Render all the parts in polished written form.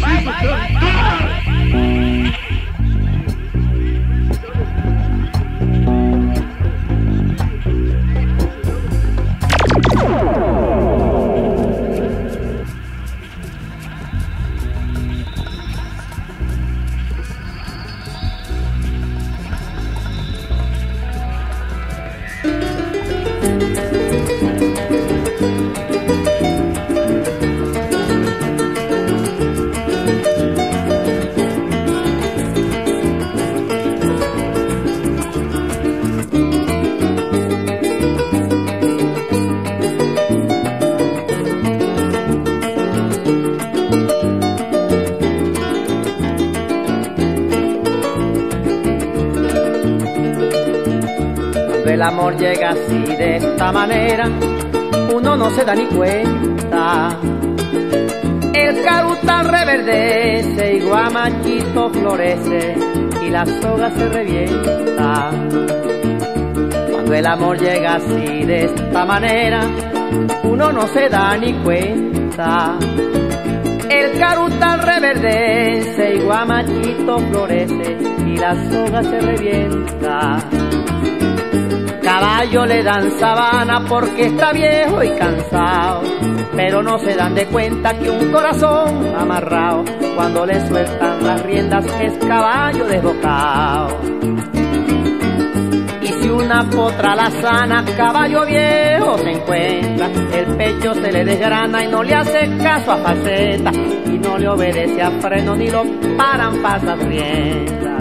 El amor llega así de esta manera, uno no se da ni cuenta. El carutal reverdece y guamachito florece y la soga se revienta. Cuando el amor llega así de esta manera, uno no se da ni cuenta. El carutal reverdece y guamachito florece y la soga se revienta. Caballo le dan sabana porque está viejo y cansado, pero no se dan de cuenta que un corazón amarrado, cuando le sueltan las riendas es caballo desbocado. Y si una potra la sana, caballo viejo se encuentra, el pecho se le desgrana y no le hace caso a faceta, y no le obedece a freno ni lo paran pasas riendas.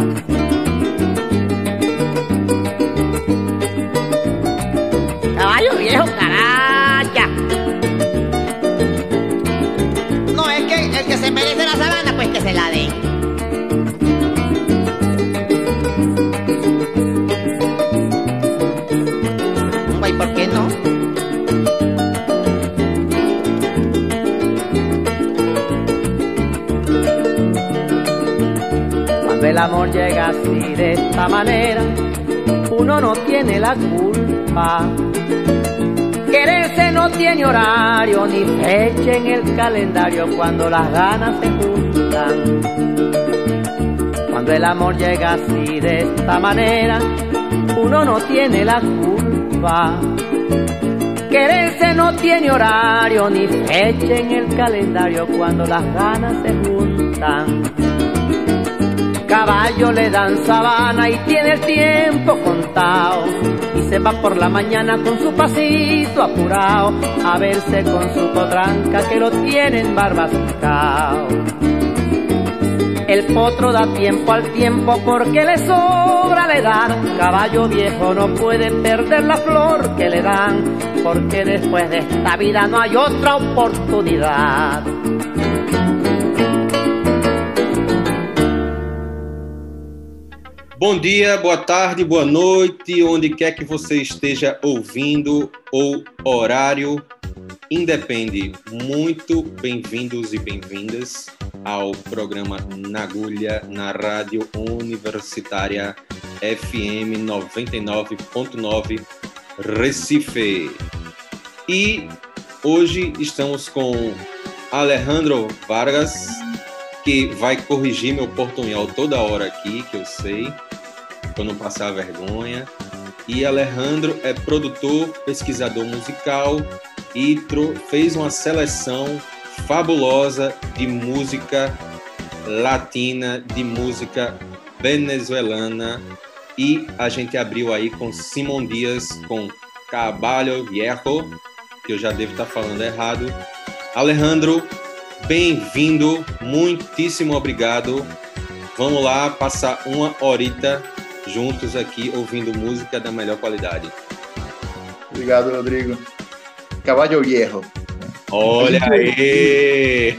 Caballo viejo, caracha. No, es que el que se merece la sabana, pues que se la den. Güey, ¿por qué no? Cuando el amor llega así de esta manera, uno no tiene la culpa. Quererse no tiene horario ni fecha en el calendario cuando las ganas se juntan. Cuando el amor llega así de esta manera, uno no tiene la culpa. Quererse no tiene horario ni fecha en el calendario cuando las ganas se juntan. Caballo le dan sabana y tiene el tiempo contado, y se va por la mañana con su pasito apurado a verse con su potranca que lo tienen barbascao. El potro da tiempo al tiempo porque le sobra la edad. Caballo viejo no puede perder la flor que le dan, porque después de esta vida no hay otra oportunidad. Bom dia, boa tarde, boa noite, onde quer que você esteja ouvindo ou horário, independe. Muito bem-vindos e bem-vindas ao programa Na Agulha, na Rádio Universitária FM 99.9 Recife. E hoje estamos com Alejandro Vargas, que vai corrigir meu portunhol toda hora aqui, que eu sei, para não passar vergonha. E Alejandro é produtor, pesquisador musical e fez uma seleção fabulosa de música latina, de música venezuelana. E a gente abriu aí com Simón Díaz, com Caballo Viejo, que eu já devo estar falando errado. Alejandro, bem-vindo, muitíssimo obrigado. Vamos lá passar uma horita juntos aqui ouvindo música da melhor qualidade. Obrigado, Rodrigo. Caballo Viejo. Olha aí!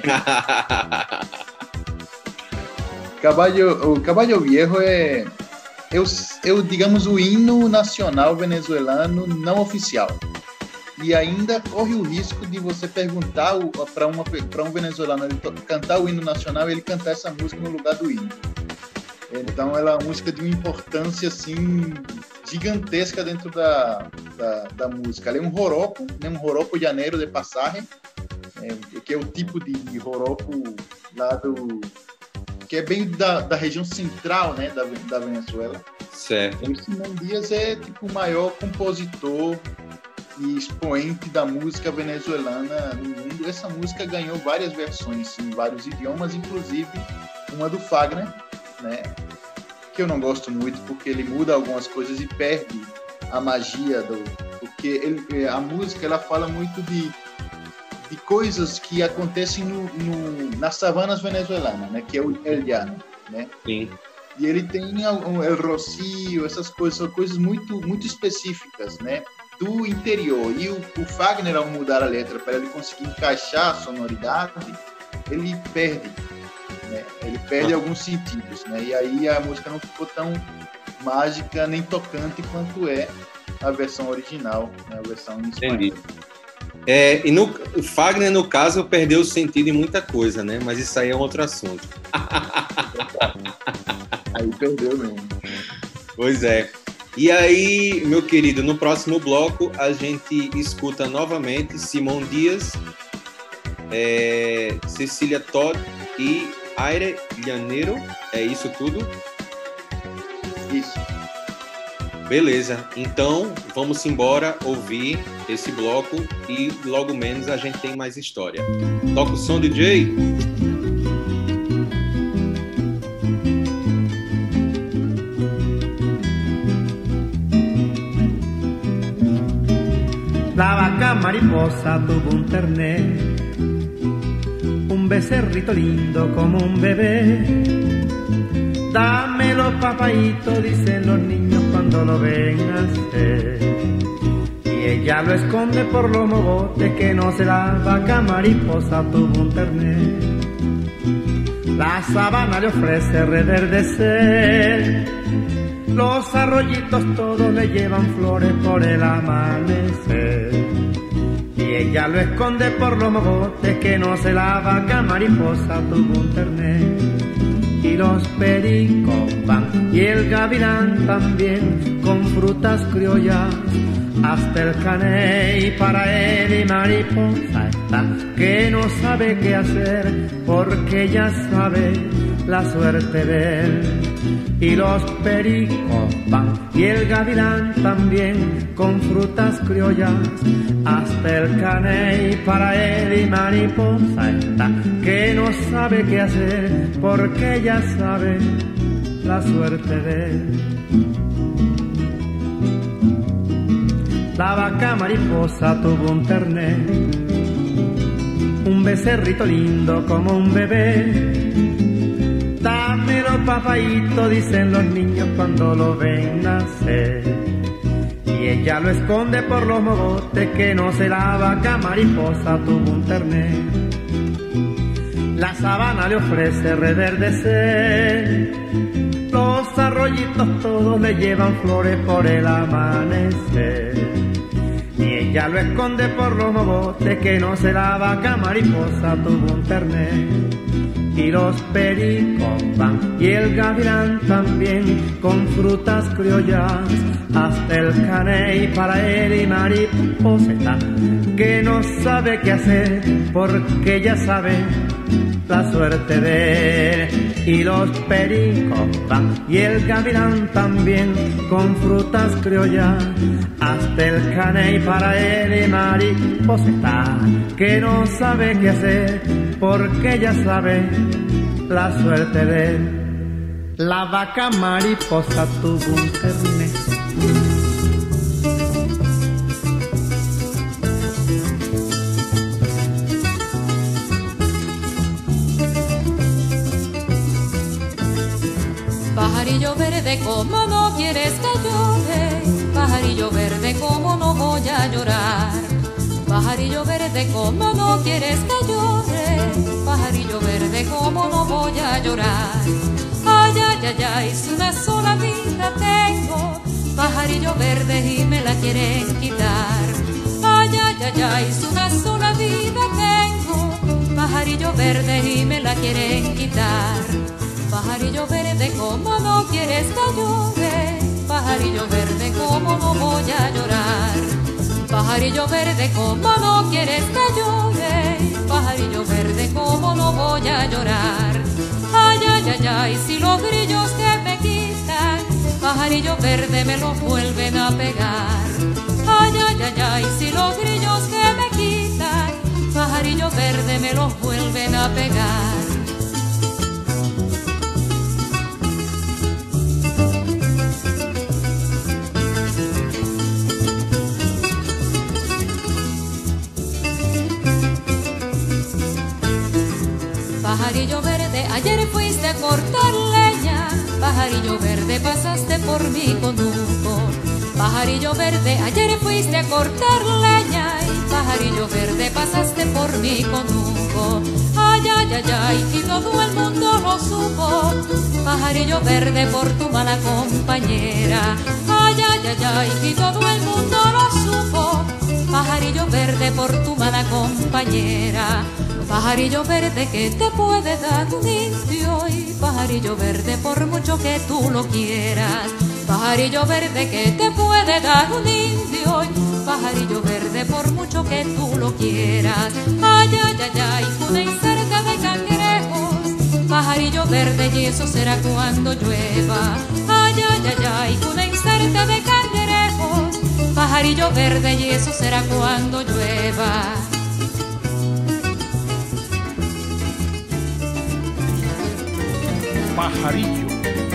O Caballo Viejo é, digamos, o hino nacional venezuelano não oficial. E ainda corre o risco de você perguntar para um venezuelano ele cantar o hino nacional e ele cantar essa música no lugar do hino. Então ela é uma música de uma importância assim, gigantesca dentro da música. Ela é um joropo, né? Um joropo llanero de passagem, que é o tipo de joropo lá que é bem da região central, né, da Venezuela. Certo. O Simão Díaz é tipo o maior compositor e expoente da música venezuelana no mundo. Essa música ganhou várias versões em vários idiomas, inclusive uma do Fagner, né, que eu não gosto muito porque ele muda algumas coisas e perde a magia porque a música ela fala muito de coisas que acontecem nas savanas venezuelanas, né, que é el llano, né? Sim. E ele tem el rocío, essas coisas, são coisas muito, muito específicas, né, do interior. E o Fagner, ao mudar a letra para ele conseguir encaixar a sonoridade, ele perde, né? Ele perde alguns sentidos, né? E aí a música não ficou tão mágica nem tocante quanto é a versão original, né? A versão em espanhol. Entendi. O Fagner, no caso, perdeu o sentido em muita coisa, né? Mas isso aí é um outro assunto. Aí perdeu mesmo. Pois é. E aí, meu querido, no próximo bloco a gente escuta novamente Simão Díaz, Cecília Todd e Aire Llanero. É isso tudo? Isso. Beleza, então vamos embora ouvir esse bloco e logo menos a gente tem mais história. Toca o som, DJ. La vaca mariposa tuvo un terné, un becerrito lindo como un bebé. Dámelo, papaíto, dicen los niños cuando lo ven nacer. Y ella lo esconde por los mogotes que no se la vaca mariposa tuvo un terné. La sabana le ofrece reverdecer, los arroyitos todos le llevan flores por el amanecer. Y ella lo esconde por los mogotes que no se la vaca mariposa tuvo un terné. Y los pericos van y el gavilán también con frutas criollas hasta el caney. Para él y mariposa está que no sabe qué hacer porque ya sabe la suerte de él. Y los pericos van y el gavilán también con frutas criollas hasta el caney. Para él y mariposa está que no sabe qué hacer porque ya sabe la suerte de él. La vaca mariposa tuvo un terné, un becerrito lindo como un bebé. Dámelo, papaíto, dicen los niños cuando lo ven nacer. Y ella lo esconde por los mogotes que no se la vaca mariposa tuvo un terné. La sabana le ofrece reverdecer, los arroyitos todos le llevan flores por el amanecer. Y ella lo esconde por los mogotes que no se la vaca mariposa tuvo un terné. Y los pericos van y el gavilán también con frutas criollas hasta el caney. Para él y mariposa está que no sabe qué hacer porque ya sabe la suerte de él. Y los pericos van y el gavilán también con frutas criollas hasta el caney. Para él y mariposa está que no sabe qué hacer porque ya sabe la suerte de él. La vaca mariposa tuvo un terné. Pajarillo verde, ¿cómo no quieres que llore? Pajarillo verde, ¿cómo no voy a llorar? Pajarillo verde, ¿cómo no quieres que llore? Pajarillo verde, ¿cómo no voy a llorar? Ay, ay, ay, ay, si una sola vida tengo, pajarillo verde y me la quieren quitar. Ay, ay, ay, ay, si una sola vida tengo, pajarillo verde y me la quieren quitar. Pajarillo verde, ¿cómo no quieres que llore? Pajarillo verde, ¿cómo no voy a llorar? Pajarillo verde, ¿cómo no quieres que llore? pajarillo verde, cómo no voy a llorar. Ay, ay, ay, ay, si los grillos que me quitan, pajarillo verde me los vuelven a pegar. Ay, ay, ay, ay, si los grillos que me quitan, pajarillo verde me los vuelven a pegar. Pajarillo verde, ayer fuiste a cortar leña, pajarillo verde, pasaste por mi conuco. Pajarillo verde, ayer fuiste a cortar leña, y pajarillo verde, pasaste por mi conuco. Ay, ay, ay, ay, y todo el mundo lo supo, pajarillo verde, por tu mala compañera. Ay, ay, ay, ay, y todo el mundo lo supo, pajarillo verde, por tu mala compañera. Pajarillo verde, que te puede dar un indio, y pajarillo verde, por mucho que tú lo quieras. Pajarillo verde, que te puede dar un indio, y pajarillo verde, por mucho que tú lo quieras. Ay, ay, ay, ay, una incerta de cangrejos, pajarillo verde, y eso será cuando llueva. Ay, ay, ay, ay, una incerta de cangrejos, pajarillo verde, y eso será cuando llueva. Pajarillo.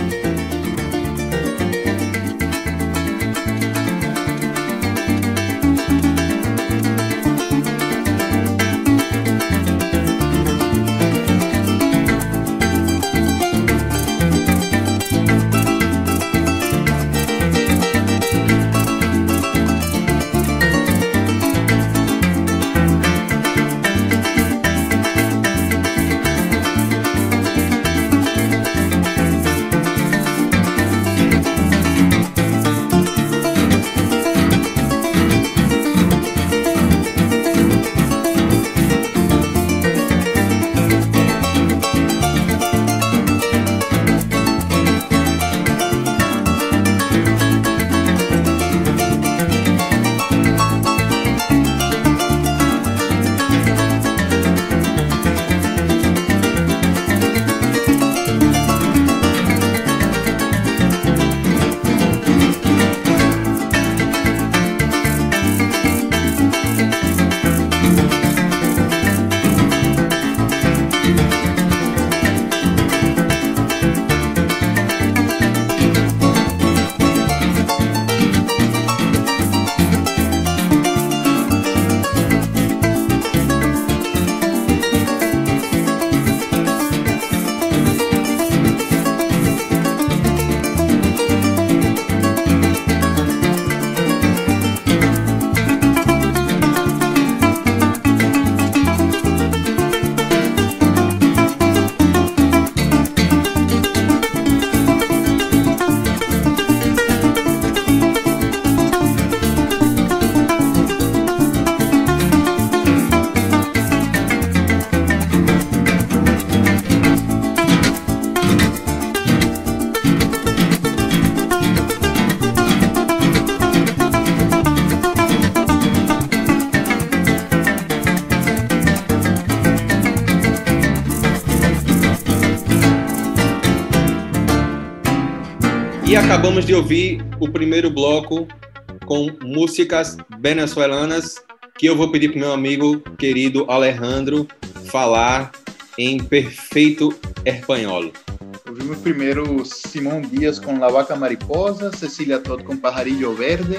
E acabamos de ouvir o primeiro bloco com músicas venezuelanas, que eu vou pedir para o meu amigo querido Alejandro falar em perfeito espanhol. Ouvimos primeiro Simón Díaz com La Vaca Mariposa, Cecília Todd com Pajarillo Verde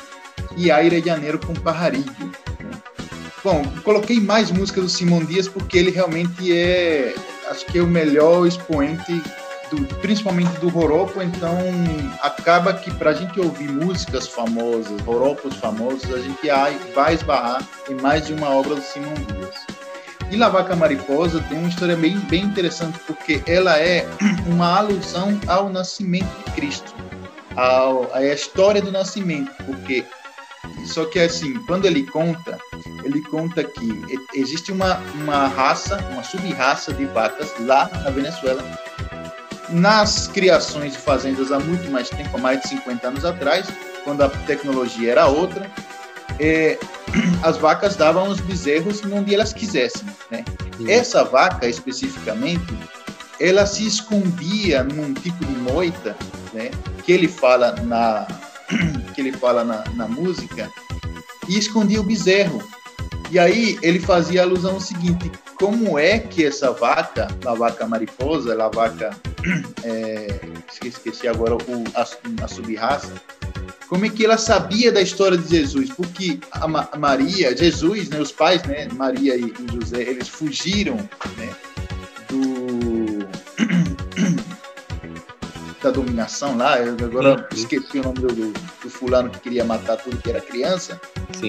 e Aire Janeiro com Pajarillo. Bom, coloquei mais músicas do Simón Díaz porque ele realmente é, acho que é o melhor expoente principalmente do joropo, então acaba que para a gente ouvir músicas famosas, joropos famosos, a gente vai esbarrar em mais de uma obra do Simón Díaz. E La Vaca Mariposa tem uma história bem interessante, porque ela é uma alusão ao nascimento de Cristo, à história do nascimento, porque só que assim, quando ele conta que existe uma raça, uma sub-raça de vacas lá na Venezuela, nas criações de fazendas há muito mais tempo, há mais de 50 anos atrás, quando a tecnologia era outra, as vacas davam os bezerros onde elas quisessem, né? Essa vaca, especificamente, ela se escondia num tipo de moita, né? Que ele fala na música, e escondia o bezerro. E aí ele fazia alusão ao seguinte: como é que essa vaca, a vaca mariposa, a vaca, esqueci agora a sub-raça, como é que ela sabia da história de Jesus? Porque a Maria, Jesus, né, os pais, né, Maria e José, eles fugiram, né, da dominação lá. Eu agora esqueci o nome do fulano que queria matar tudo que era criança. Sim.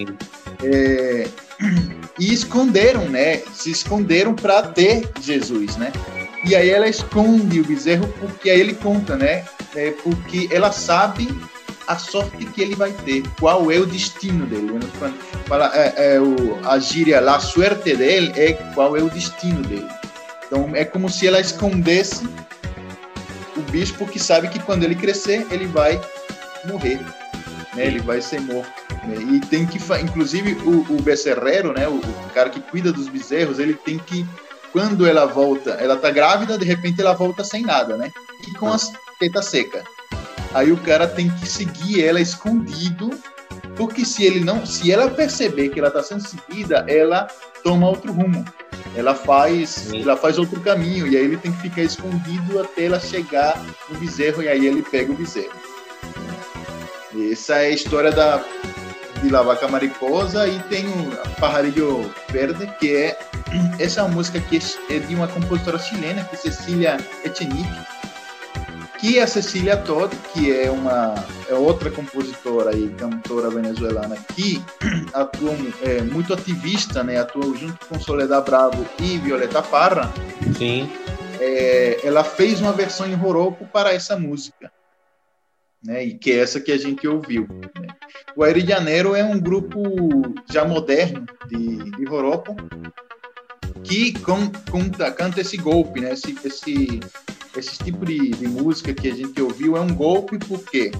E esconderam, né? Se esconderam para ter Jesus, né? E aí ela esconde o bezerro, porque aí ele conta, né? Porque ela sabe a sorte que ele vai ter, qual é o destino dele. Quando fala, a gíria, a suerte dele é qual é o destino dele. Então é como se ela escondesse o bicho, porque sabe que quando ele crescer, ele vai morrer, né? Ele vai ser morto. E tem que, inclusive, o becerreiro, né, o cara que cuida dos bezerros, ele tem que, quando ela volta, ela tá grávida, de repente ela volta sem nada, né, e com as tetas secas. Aí o cara tem que seguir ela escondido, porque se ela perceber que ela tá sendo seguida, ela toma outro rumo, ela faz outro caminho, e aí ele tem que ficar escondido até ela chegar no bezerro, e aí ele pega o bezerro. Essa é a história de La Vaca Mariposa. E tem o Pajarillo Verde, que é essa música que é de uma compositora chilena, que é Cecilia Echenique, que a Cecilia Todd, que é outra compositora e cantora venezuelana que atua muito ativista, né? Atua junto com Soledad Bravo e Violeta Parra. Sim. Ela fez uma versão em joropo para essa música, né, e que é essa que a gente ouviu, né. O Aire Janeiro é um grupo já moderno de joropo que canta esse golpe, né, esse tipo de música que a gente ouviu é um golpe, porque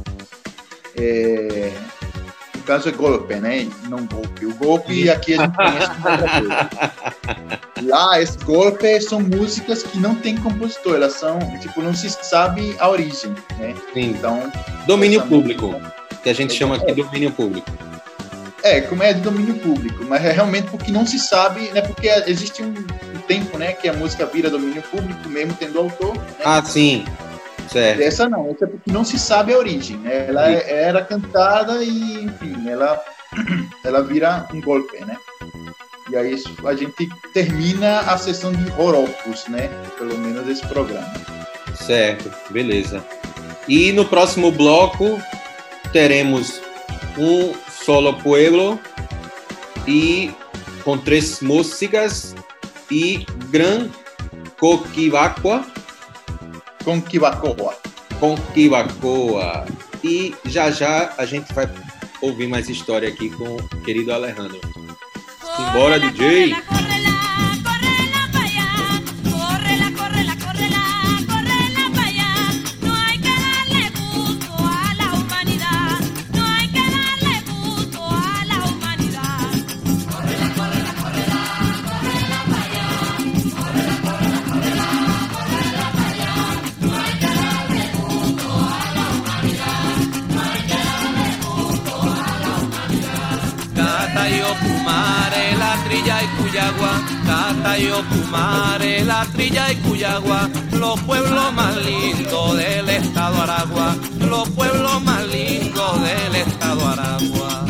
no caso é golpe, né, não golpe. O golpe aqui a gente conhece como outra coisa. Lá, esse golpe são músicas que não tem compositor, elas são, tipo, não se sabe a origem, né? Sim. Então, domínio público, que a gente chama aqui de domínio público. Como é de domínio público, mas é realmente porque não se sabe, né? Porque existe um tempo, né, que a música vira domínio público, mesmo tendo autor, né? Ah, sim. Certo. Essa não, essa é porque não se sabe a origem, né? Ela era cantada e, enfim, ela vira um golpe, né? E aí a gente termina a sessão de joropos, né? Pelo menos esse programa. Certo, beleza. E no próximo bloco teremos um solo pueblo e com 3 músicas e Gran Conquivacoa. E já a gente vai ouvir mais história aqui com o querido Alejandro. Simbora, DJ! Cata y Ocumare, La Trilla y Cuyagua, los pueblos más lindos del estado Aragua, los pueblos más lindos del estado Aragua.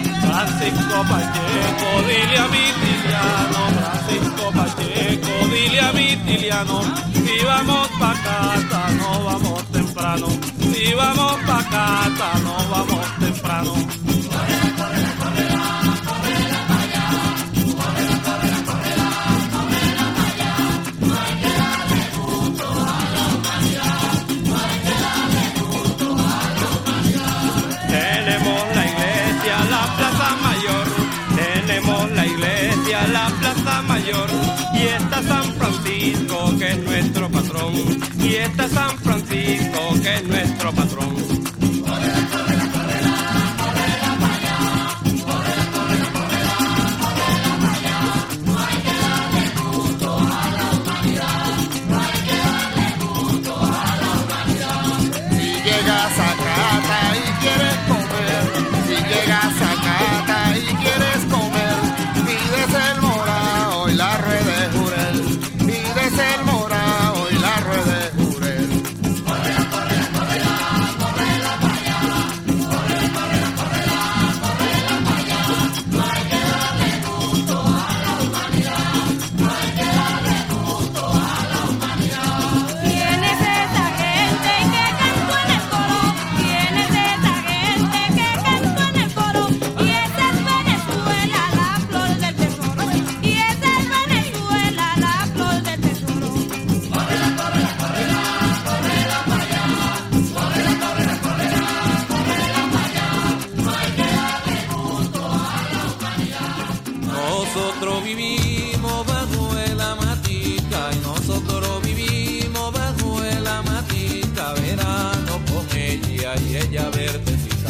Francisco Pacheco, dile a mi tillano, Francisco Pacheco, dile liviano. Si vamos pa' casa, no vamos temprano. Si vamos pa' casa, no vamos temprano. La Plaza Mayor, y está San Francisco que es nuestro patrón, y está San Francisco que es nuestro patrón. Si llegas a casa y quieres comer, si llegas a casa y quieres comer, pides el morao y la rueda de jurel, pides el morao y la rueda de jurel. Correla, correla, correla, correla para allá, correla, correla, correla, correla para allá. No hay que darle gusto a la humanidad, no hay que darle gusto a la humanidad. ¿Quién es esa gente que cantó en el coro? ¿Quién es esa gente que cantó en el coro? Y esa es Venezuela, la flor del tesoro. Y esa es Venezuela, la flor del tesoro. Correla, correla, correla, correla para allá, correla, correla, correla, correla para allá. No hay que darle gusto a la humanidad. Nosotros vivimos bajo la matica y nosotros vivimos bajo la matica. Verano con ella y ella verdecita,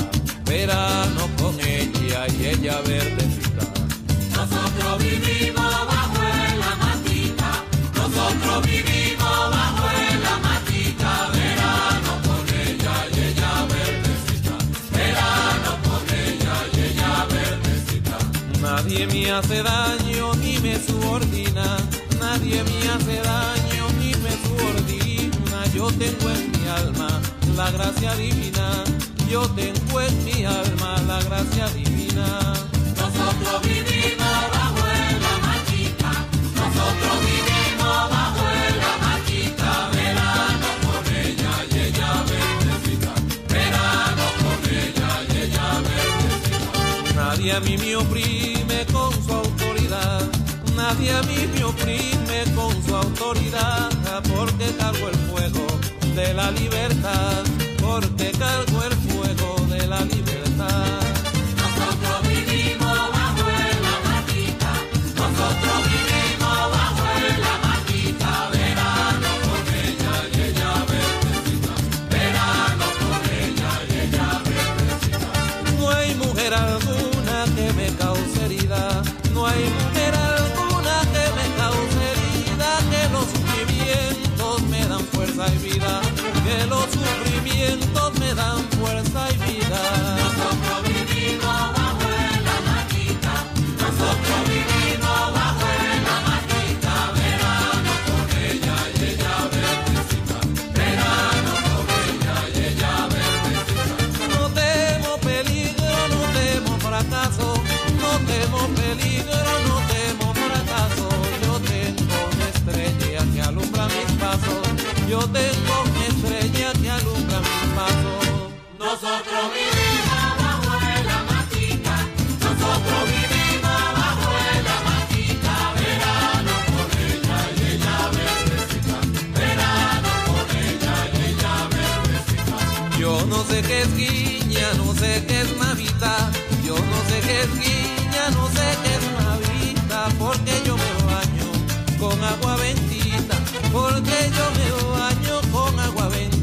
verano con ella y ella verdecita. Nosotros vivimos bajo la matica, nosotros vivimos bajo la matica, verano con ella y ella verdecita, verano con ella y ella verdecita. Nadie me hace daño ni me subordina, nadie me hace daño ni me subordina. Yo tengo en mi alma la gracia divina, yo tengo en mi alma la gracia divina. Nosotros vivimos bajo la matica, nosotros vivimos bajo la matica, verano con ella y ella verdecita, verano con ella y ella verdecita. Nadie a mí me oprime con su autoridad, nadie a mí me oprime con su autoridad, porque cargo el fuego de la libertad, porque cargo el fuego de la libertad. Nosotros vivimos bajo la matica, nosotros vivimos bajo la matica, verano con ella y ella verdecita, verano con ella y ella verdecita. No hay mujer alguna que me cause herida, no hay mujer alguna que me cause herida, que los sufrimientos me dan fuerza y vida, que los sufrimientos me dan fuerza y vida. Nosotros vivimos bajo la matica, nosotros vivimos bajo la matica, verano con ella y ella verdecita, verano con ella y ella verdecita. No temo peligro, no temo fracaso, no temo peligro, no temo fracaso. Yo tengo una estrella que alumbra mis pasos, yo tengo una estrella que alumbra mis pasos. Nosotros vivimos bajo la matica, nosotros vivimos bajo la matica, verano con ella y ella verdecita, verano con ella y ella verdecita. Yo no sé qué es guiña, no sé qué es navita, yo no sé qué es guiña, no sé qué es navita, porque yo me baño con agua bendita, porque yo me baño con agua bendita.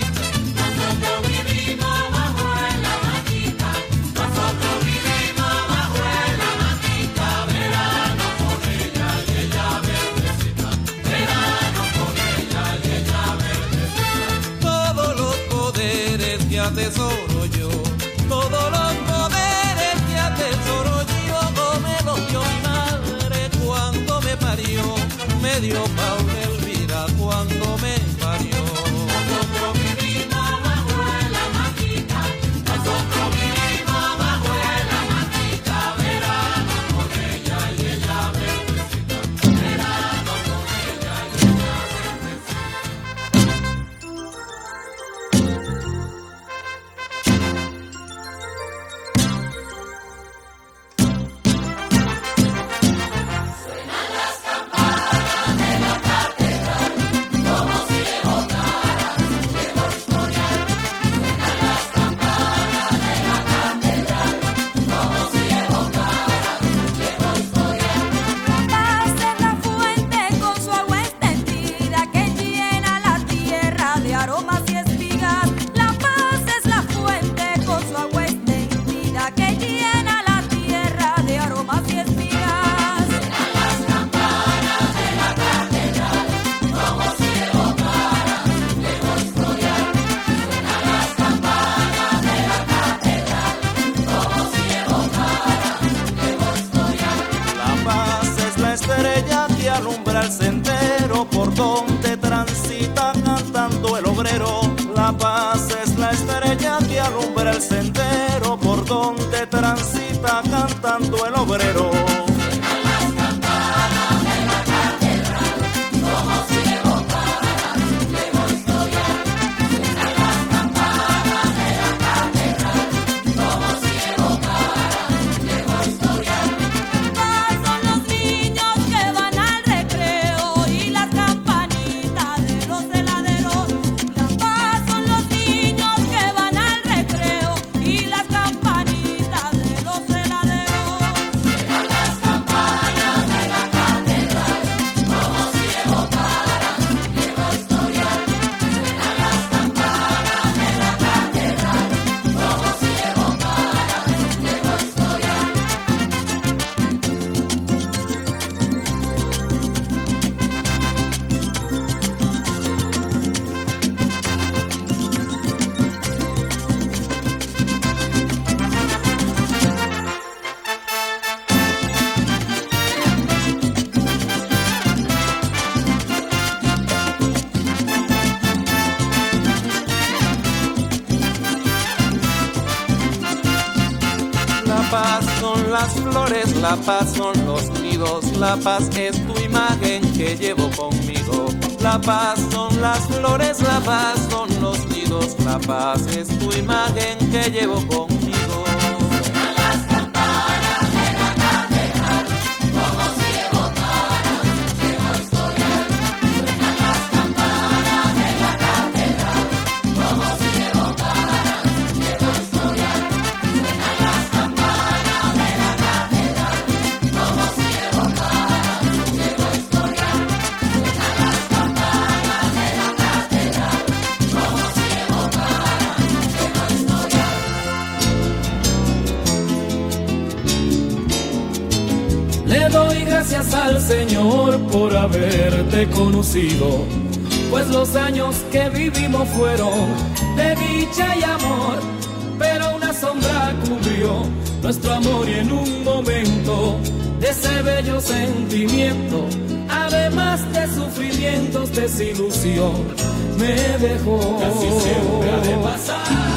Nosotros vivimos bajo la matica, nosotros vivimos bajo la matica, verano con ella y ella verdecita, verano con ella y ella verdecita. Todos los poderes que atesoro yo, todos los poderes que atesoro yo, me los dio mi madre cuando me parió, me dio Paula Elvira cuando me parió. Nosotros vivimos bajo la matica, nosotros vivimos bajo la matica, verano con ella y ella verdecita, verano con ella y ella verdecita. alumbra el sendero por donde transita cantando el obrero. La paz es la estrella que alumbra el sendero por donde transita cantando el obrero. La paz son los nidos, la paz es tu imagen que llevo conmigo. La paz son las flores, la paz son los nidos, la paz es tu imagen que llevo conmigo. Suenan las campanas de la catedral, como si evocaran llevo historia. Suenan las campanas de la catedral, como si evocaran llevo historia. Suenan las campanas de la catedral, como si evocaran llevo historia. Suenan las campanas de la catedral, como si evocaran llevo historia. Le doy gracias al Señor por haberte conocido, pues los años que vivimos fueron de dicha y amor, pero una sombra cubrió nuestro amor y en un momento de ese bello sentimiento, además de sufrimientos, desilusión, me dejó. Casi siempre ha de pasar.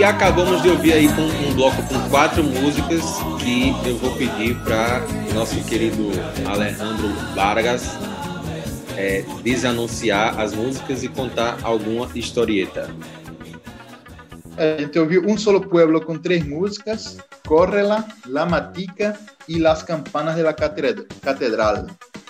E acabamos de ouvir aí com um bloco com 4 músicas que eu vou pedir para nosso querido Alejandro Vargas desanunciar as músicas e contar alguma historieta. A gente ouviu Un Solo Pueblo com 3 músicas, Córrela, La Matica e Las Campanas de la Catedral.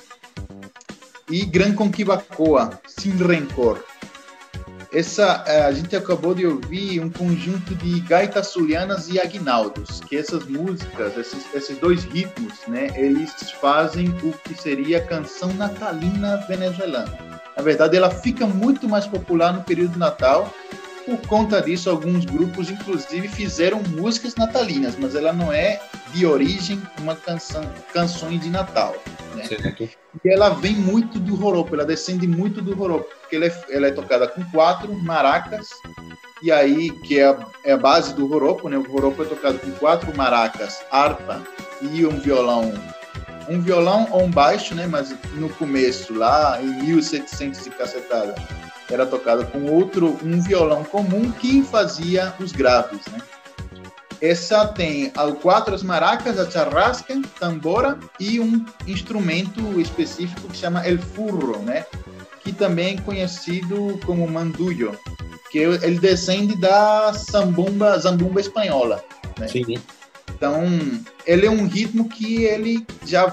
E Gran Conquibacoa, Sin Rencor. Essa, a gente acabou de ouvir um conjunto de gaitas zulianas e aguinaldos, que essas músicas, esses 2 ritmos, né, eles fazem o que seria a canção natalina venezuelana. Na verdade, ela fica muito mais popular no período do Natal. Por conta disso, alguns grupos, inclusive, fizeram músicas natalinas, mas ela não é de origem uma canções de Natal, né? E ela vem muito do joropo, ela descende muito do joropo, porque ela é tocada com 4 maracas, e aí, que é a base do joropo, né? O joropo é tocado com 4 maracas, harpa e um violão ou um baixo, né? Mas no começo, lá em 1700 e cacetada, era tocada com um violão comum que fazia os graves, né? Essa tem 4 as maracas, a charrasca, tambora e um instrumento específico que chama el furro, né? Que também é conhecido como mandullo, que ele descende da zambumba espanhola, né? Sim. Então, ele é um ritmo que ele já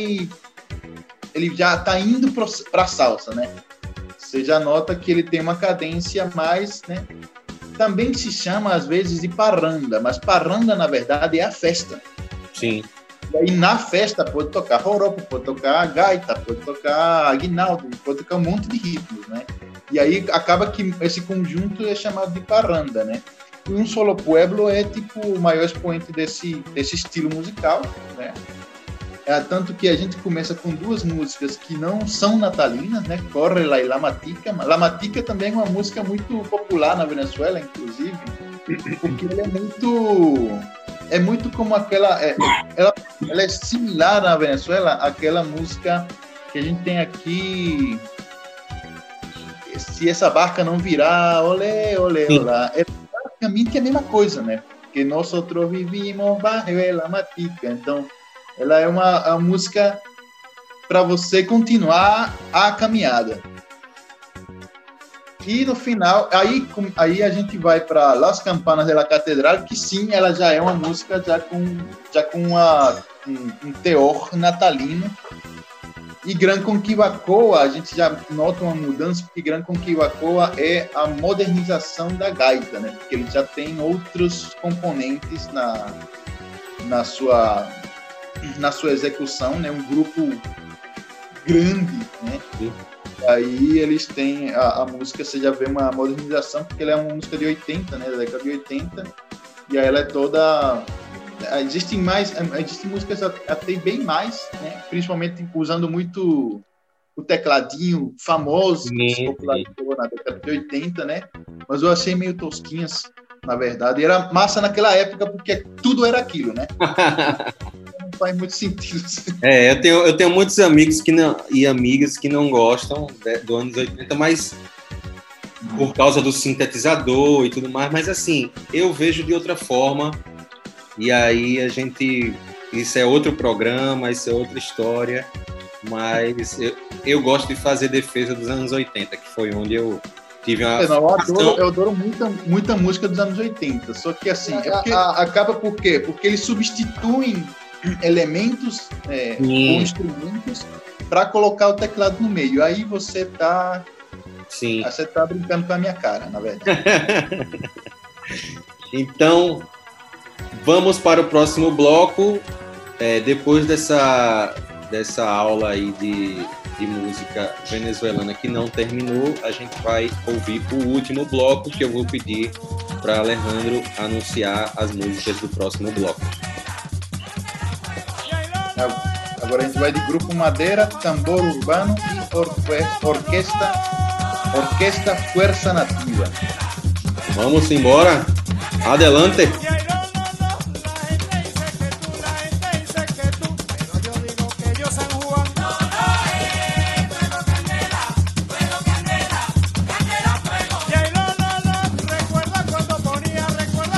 está indo para a salsa, né? Você já nota que ele tem uma cadência mais, né? Também se chama, às vezes, de parranda, mas parranda, na verdade, é a festa. Sim. E aí, na festa, pode tocar joropo, pode tocar gaita, pode tocar aguinaldo, pode tocar um monte de ritmos, né? E aí, acaba que esse conjunto é chamado de parranda, né? E Un Solo Pueblo é, tipo, o maior expoente desse estilo musical, né? Tanto que a gente começa com 2 músicas que não são natalinas, né? Córrela e La Matica. La Matica também é uma música muito popular na Venezuela, inclusive, porque ela é muito como aquela... ela é similar na Venezuela àquela música que a gente tem aqui... Se essa barca não virar, olé, olé, olá. É praticamente a mesma coisa, né? Porque nós vivimos bajo La Matica. Então, ela é uma música para você continuar a caminhada. E no final, aí a gente vai para Las Campanas de la Catedral, que sim, ela já é uma música já com um teor natalino. E Gran Conquibacoa, a gente já nota uma mudança, porque Gran Conquibacoa é a modernização da gaita, né? Porque ele já tem outros componentes na sua execução, né? Um grupo grande, né? Sim. Aí eles têm a música, você já vê uma modernização, porque ela é uma música de 80, né? Da década de 80, e aí ela é toda... Existem músicas até bem mais, né? Principalmente usando muito o tecladinho famoso que popularizou na década de 80, né? Mas eu achei meio tosquinhas, na verdade. E era massa naquela época, porque tudo era aquilo, né? Não faz muito sentido. Eu tenho muitos amigos e amigas que não gostam do anos 80, mas por causa do sintetizador e tudo mais. Mas assim, eu vejo de outra forma. E aí isso é outro programa, isso é outra história, mas eu gosto de fazer defesa dos anos 80, que foi onde eu tive uma... Eu adoro muita música dos anos 80, só que assim, acaba por quê? Porque eles substituem elementos ou instrumentos para colocar o teclado no meio, aí você tá brincando com a minha cara, na verdade. Então... Vamos para o próximo bloco. Depois dessa aula aí de música venezuelana que não terminou, a gente vai ouvir o último bloco, que eu vou pedir para Alejandro anunciar as músicas do próximo bloco. Agora a gente vai de Grupo Madeira, Tambor Urbano e Orquesta Fuerza Nativa. Vamos embora. Adelante. Recuerda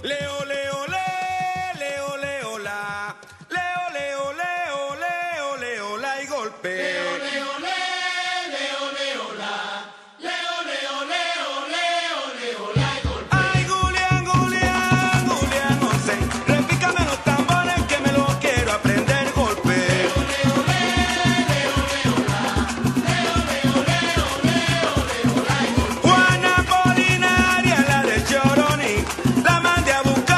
Leo, leo, le, leo, leo, la. Leo, leo, leo, leo, leo, la y golpe. Leo, leo, le, leo, leo, la. Leo, leo, leo, leo, leo, la y golpe. Ay, Julián, Julián, Julián, no sé. Repícame los tambores que me los quiero aprender golpe. Leo, leo, le, leo, leo, la. Leo, leo, leo, leo, leo, la y golpe. Juana Polinaria, la de Choroní, la mandé a buscar.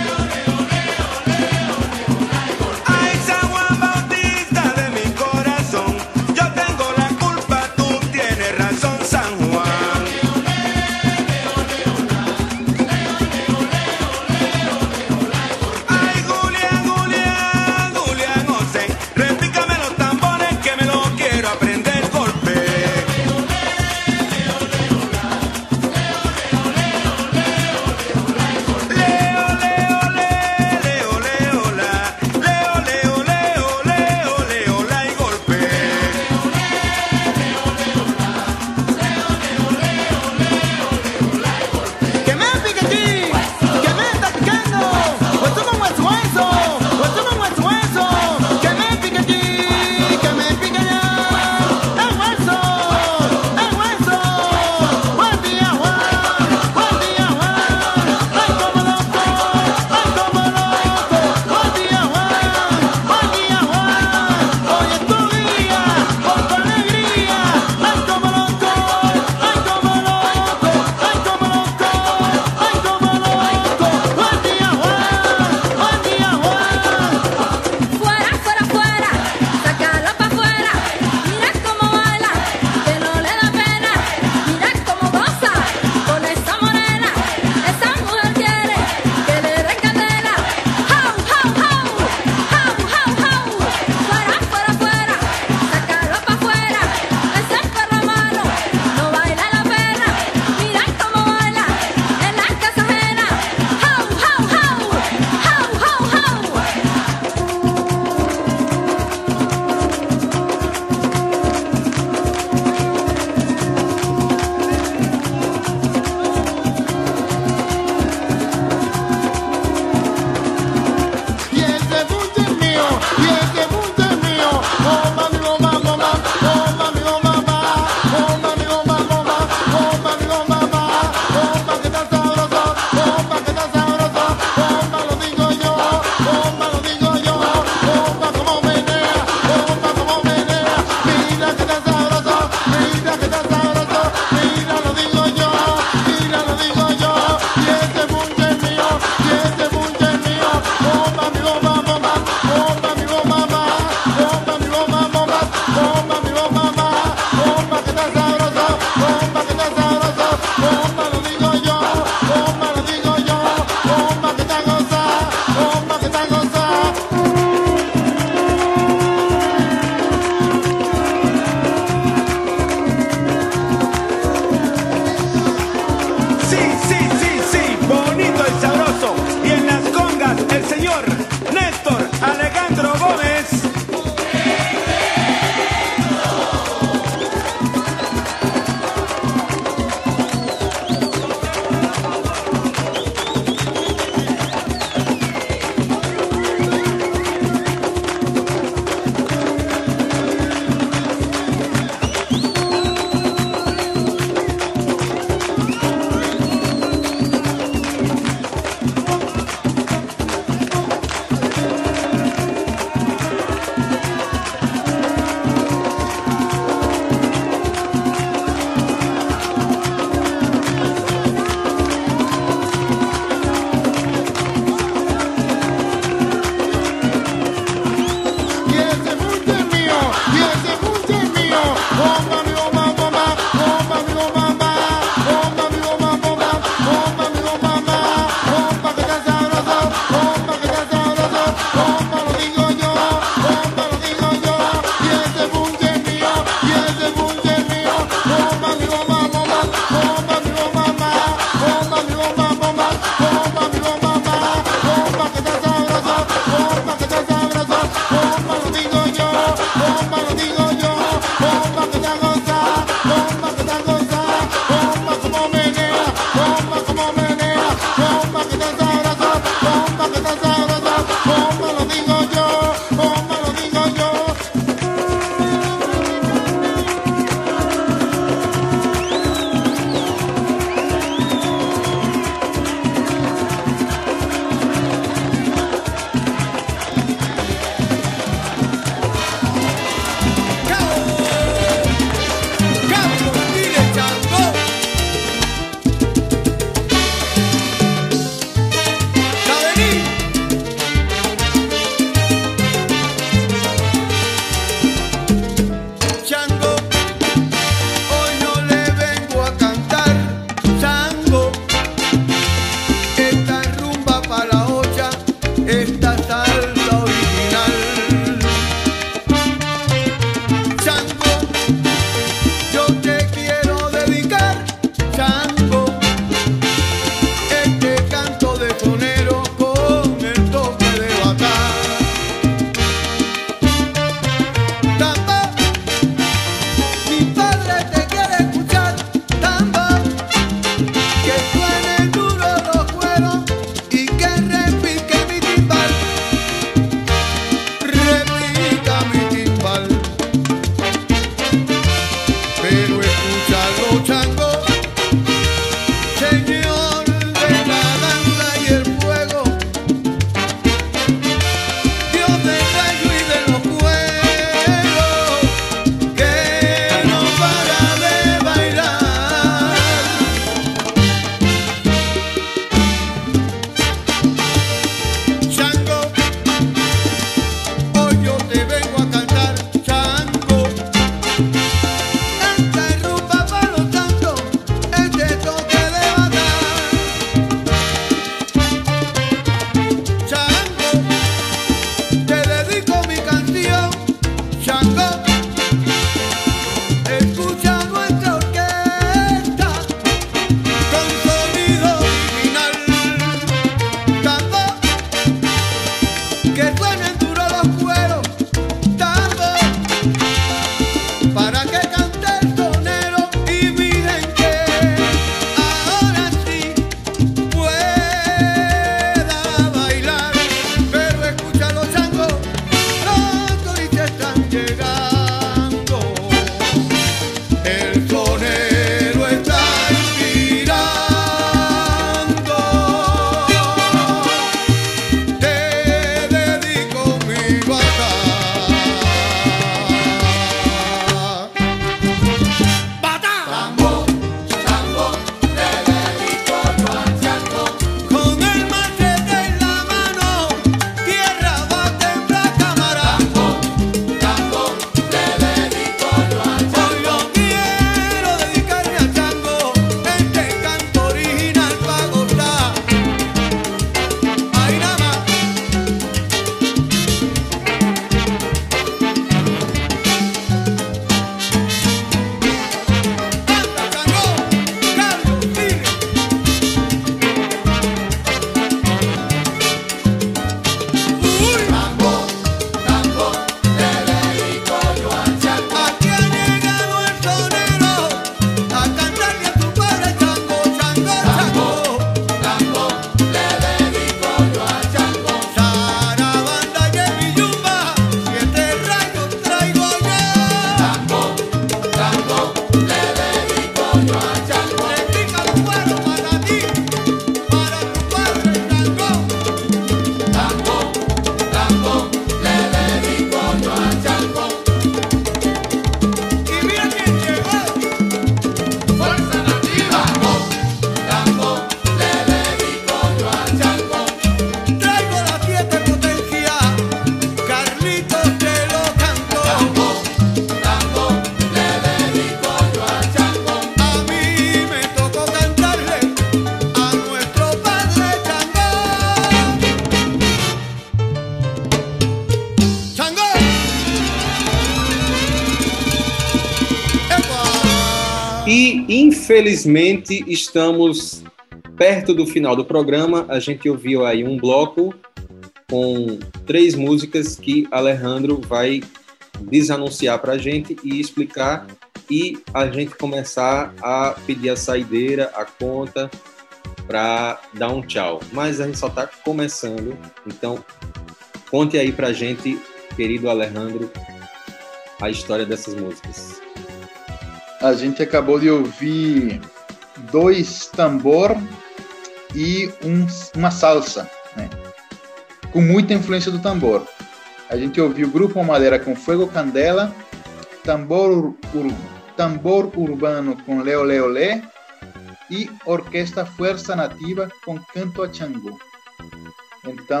infelizmente, estamos perto do final do programa. A gente ouviu aí um bloco com 3 músicas que Alejandro vai desanunciar para a gente e explicar, e a gente começar a pedir a saideira, a conta, para dar um tchau. Mas a gente só está começando, então conte aí para a gente, querido Alejandro, a história dessas músicas. A gente acabou de ouvir 2 tambor e uma salsa, né? Com muita influência do tambor. A gente ouviu o Grupo Madeira com Fuego Candela, tambor urbano com Leo Leo Lé e Orquestra Fuerza Nativa com Canto a Xangô. Então,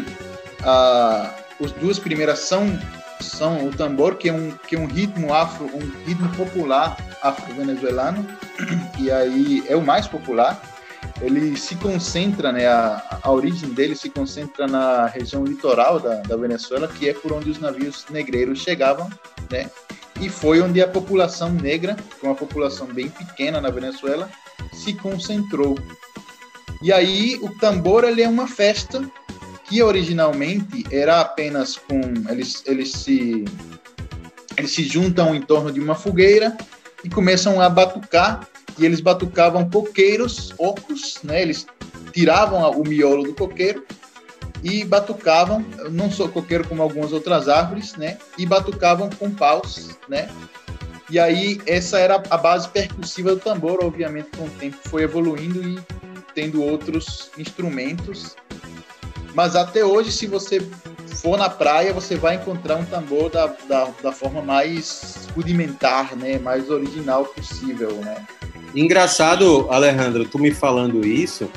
as 2 primeiras são o tambor, que é um ritmo afro, um ritmo popular afro-venezuelano, e aí é o mais popular. Ele se concentra, né, a origem dele se concentra na região litoral da Venezuela, que é por onde os navios negreiros chegavam, né, e foi onde a população negra, que é uma população bem pequena na Venezuela, se concentrou. E aí o tambor, ele é uma festa que originalmente era apenas com... Eles se juntam em torno de uma fogueira e começam a batucar, e eles batucavam coqueiros ocos, né? Eles tiravam o miolo do coqueiro e batucavam, não só coqueiro como algumas outras árvores, né? E batucavam com paus, né? E aí essa era a base percussiva do tambor. Obviamente, com o tempo foi evoluindo e tendo outros instrumentos. Mas até hoje, se você for na praia, você vai encontrar um tambor da forma mais rudimentar, né? Mais original possível, né? Engraçado, Alejandro, tu me falando isso,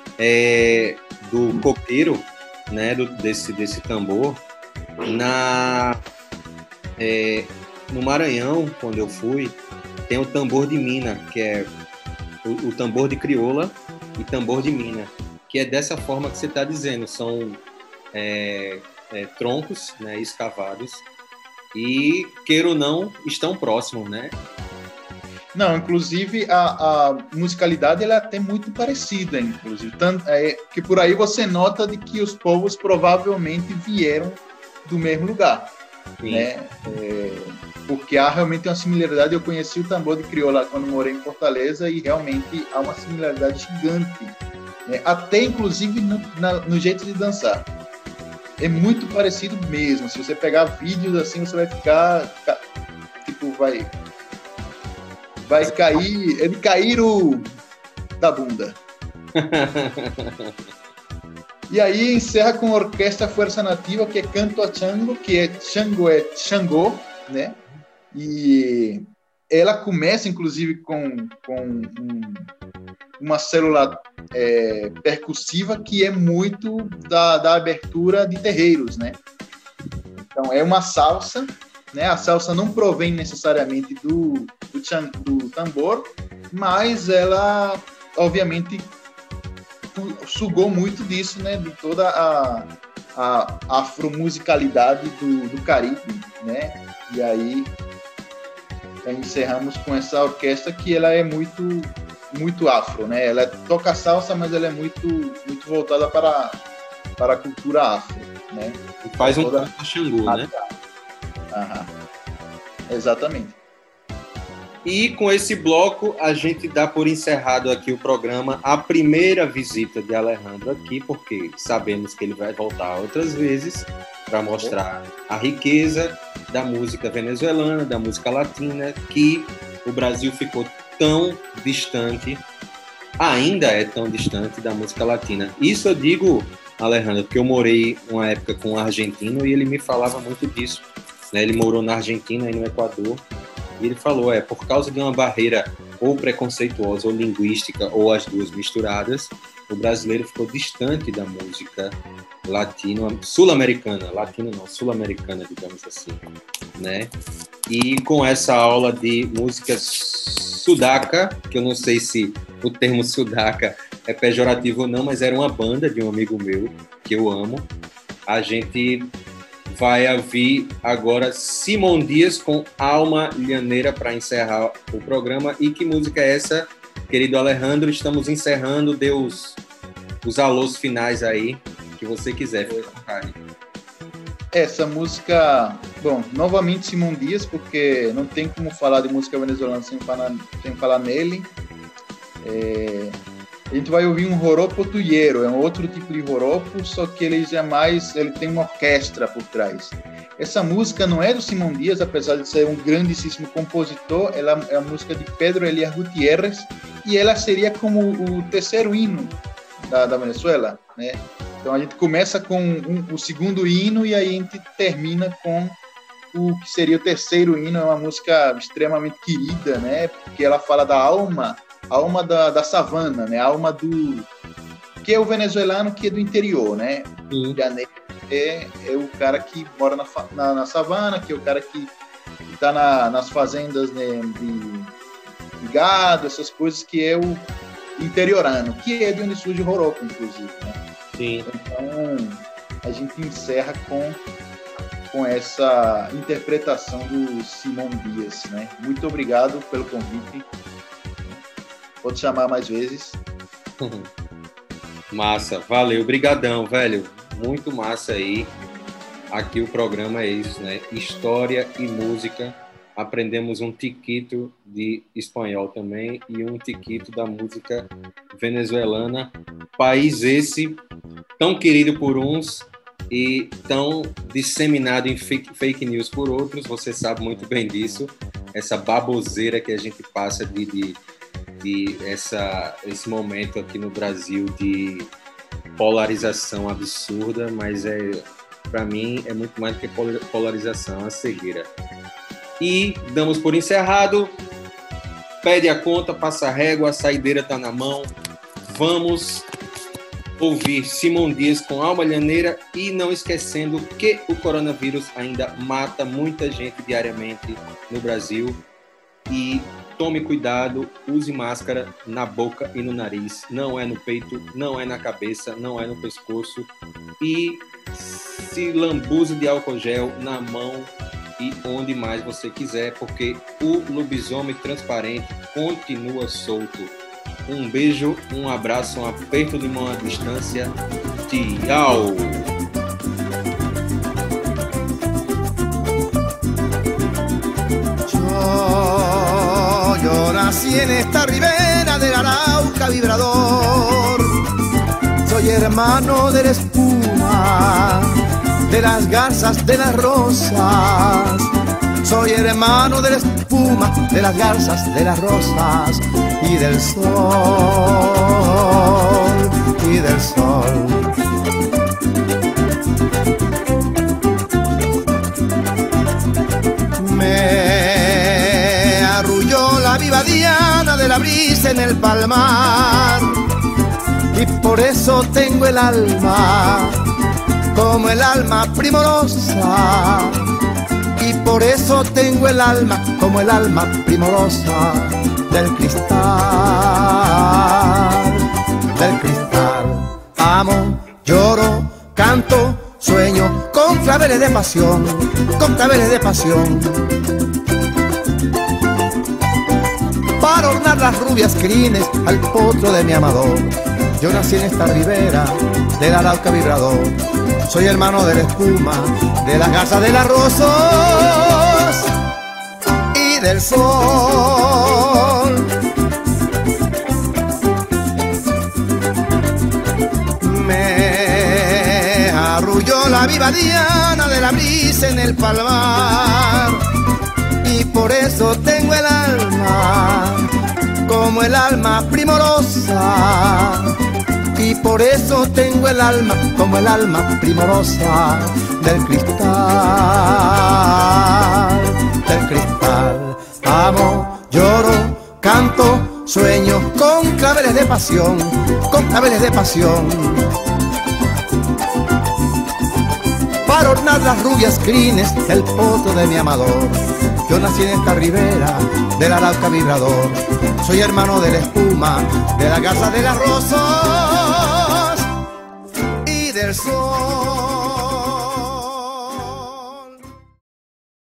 do coqueiro, né? Desse tambor. No Maranhão, quando eu fui, tem o tambor de mina, que é o tambor de crioula e tambor de mina, que é dessa forma que você está dizendo, são troncos, né, escavados, e, queira ou não, estão próximos, né? Não, inclusive a musicalidade ela é até muito parecida, inclusive, que por aí você nota de que os povos provavelmente vieram do mesmo lugar, né? Porque há realmente uma similaridade. Eu conheci o tambor de crioula quando morei em Fortaleza e realmente há uma similaridade gigante, né? Até inclusive no jeito de dançar. É muito parecido mesmo. Se você pegar vídeos assim, você vai ficar tipo, vai cair, ele cair da bunda. E aí encerra com a Orquestra Fuerza Nativa, que é Canto a Xangô, que é Xangô, né? E ela começa, inclusive, com uma célula percussiva que é muito da abertura de terreiros, né? Então, é uma salsa, né? A salsa não provém necessariamente do tambor, mas ela, obviamente, sugou muito disso, né? De toda a afromusicalidade do Caribe, né? E aí encerramos com essa orquestra que ela é muito afro, né? Ela toca salsa, mas ela é muito voltada para a cultura afro, né? E faz um canto a Xangô, né? Aham. Exatamente. E com esse bloco, a gente dá por encerrado aqui o programa, a primeira visita de Alejandro aqui, porque sabemos que ele vai voltar outras vezes para mostrar a riqueza da música venezuelana, da música latina, que o Brasil ficou tão distante, ainda é tão distante da música latina. Isso eu digo, Alejandro, porque eu morei uma época com um argentino e ele me falava muito disso, né? Ele morou na Argentina e no Equador, e ele falou, por causa de uma barreira ou preconceituosa ou linguística, ou as duas misturadas, o brasileiro ficou distante da música sul-americana, latina não, sul-americana, digamos assim, né? E com essa aula de música sudaca, que eu não sei se o termo sudaca é pejorativo ou não, mas era uma banda de um amigo meu, que eu amo, a gente vai ouvir agora Simão Dias com Alma Lhaneira para encerrar o programa. E que música é essa, querido Alejandro? Estamos encerrando, dê os alôs finais aí, que você quiser, fica à vontade. Essa música, bom, novamente Simão Dias, porque não tem como falar de música venezuelana sem falar nele. A gente vai ouvir um joropo tuiero, é um outro tipo de joropo, só que ele tem uma orquestra por trás. Essa música não é do Simão Dias, apesar de ser um grandíssimo compositor, ela é a música de Pedro Elias Gutiérrez, e ela seria como o terceiro hino da Venezuela, né? Então a gente começa com o segundo hino e aí a gente termina com o que seria o terceiro hino. É uma música extremamente querida, né? Porque ela fala da alma da savana, né? A alma do que é o venezuelano, que é do interior, né? Sim. É o cara que mora na savana, que é o cara que está nas fazendas, né, de gado, essas coisas, que é o interiorano, que é de onde surge o joropo, inclusive, né? Sim. Então a gente encerra com essa interpretação do Simão Dias, né? Muito obrigado pelo convite. Pode chamar mais vezes. Massa, valeu, brigadão, velho. Muito massa aí. Aqui o programa é isso, né? História e música. Aprendemos um tiquito de espanhol também e um tiquito da música venezuelana. País esse tão querido por uns e tão disseminado em fake news por outros. Você sabe muito bem disso. Essa baboseira que a gente passa de esse momento aqui no Brasil de polarização absurda, mas para mim é muito mais do que polarização, é uma cegueira. E damos por encerrado. Pede a conta, passa a régua, a saideira está na mão. Vamos ouvir Simão Dias com Alma Lhaneira e não esquecendo que o coronavírus ainda mata muita gente diariamente no Brasil. E tome cuidado, use máscara na boca e no nariz. Não é no peito, não é na cabeça, não é no pescoço. E se lambuze de álcool gel na mão e onde mais você quiser, porque o lobisomem transparente continua solto. Um beijo, um abraço, um aperto de mão à distância. Tchau! Yo nací en esta ribera del Arauca vibrador. Soy hermano de la espuma, de las garzas, de las rosas. Soy hermano de la espuma, de las garzas, de las rosas y del sol, y del sol. Me arrulló la viva diana de la brisa en el palmar y por eso tengo el alma como el alma primorosa, y por eso tengo el alma como el alma primorosa del cristal, del cristal. Amo, lloro, canto, sueño con claveles de pasión, con claveles de pasión. Para ornar las rubias crines al potro de mi amador. Yo nací en esta ribera del Arauca vibrador. Soy hermano de la espuma, de las garzas, de las rosas y del sol. Me arrulló la viva diana de la brisa en el palmar y por eso tengo el alma como el alma primorosa, y por eso tengo el alma como el alma primorosa del cristal, del cristal. Amo, lloro, canto, sueño con claveles de pasión, con claveles de pasión. Para ornar las rubias crines del potro de mi amador. Yo nací en esta ribera del Arauca vibrador. Soy hermano de la espuma, de la garza, de las rosas y del sol.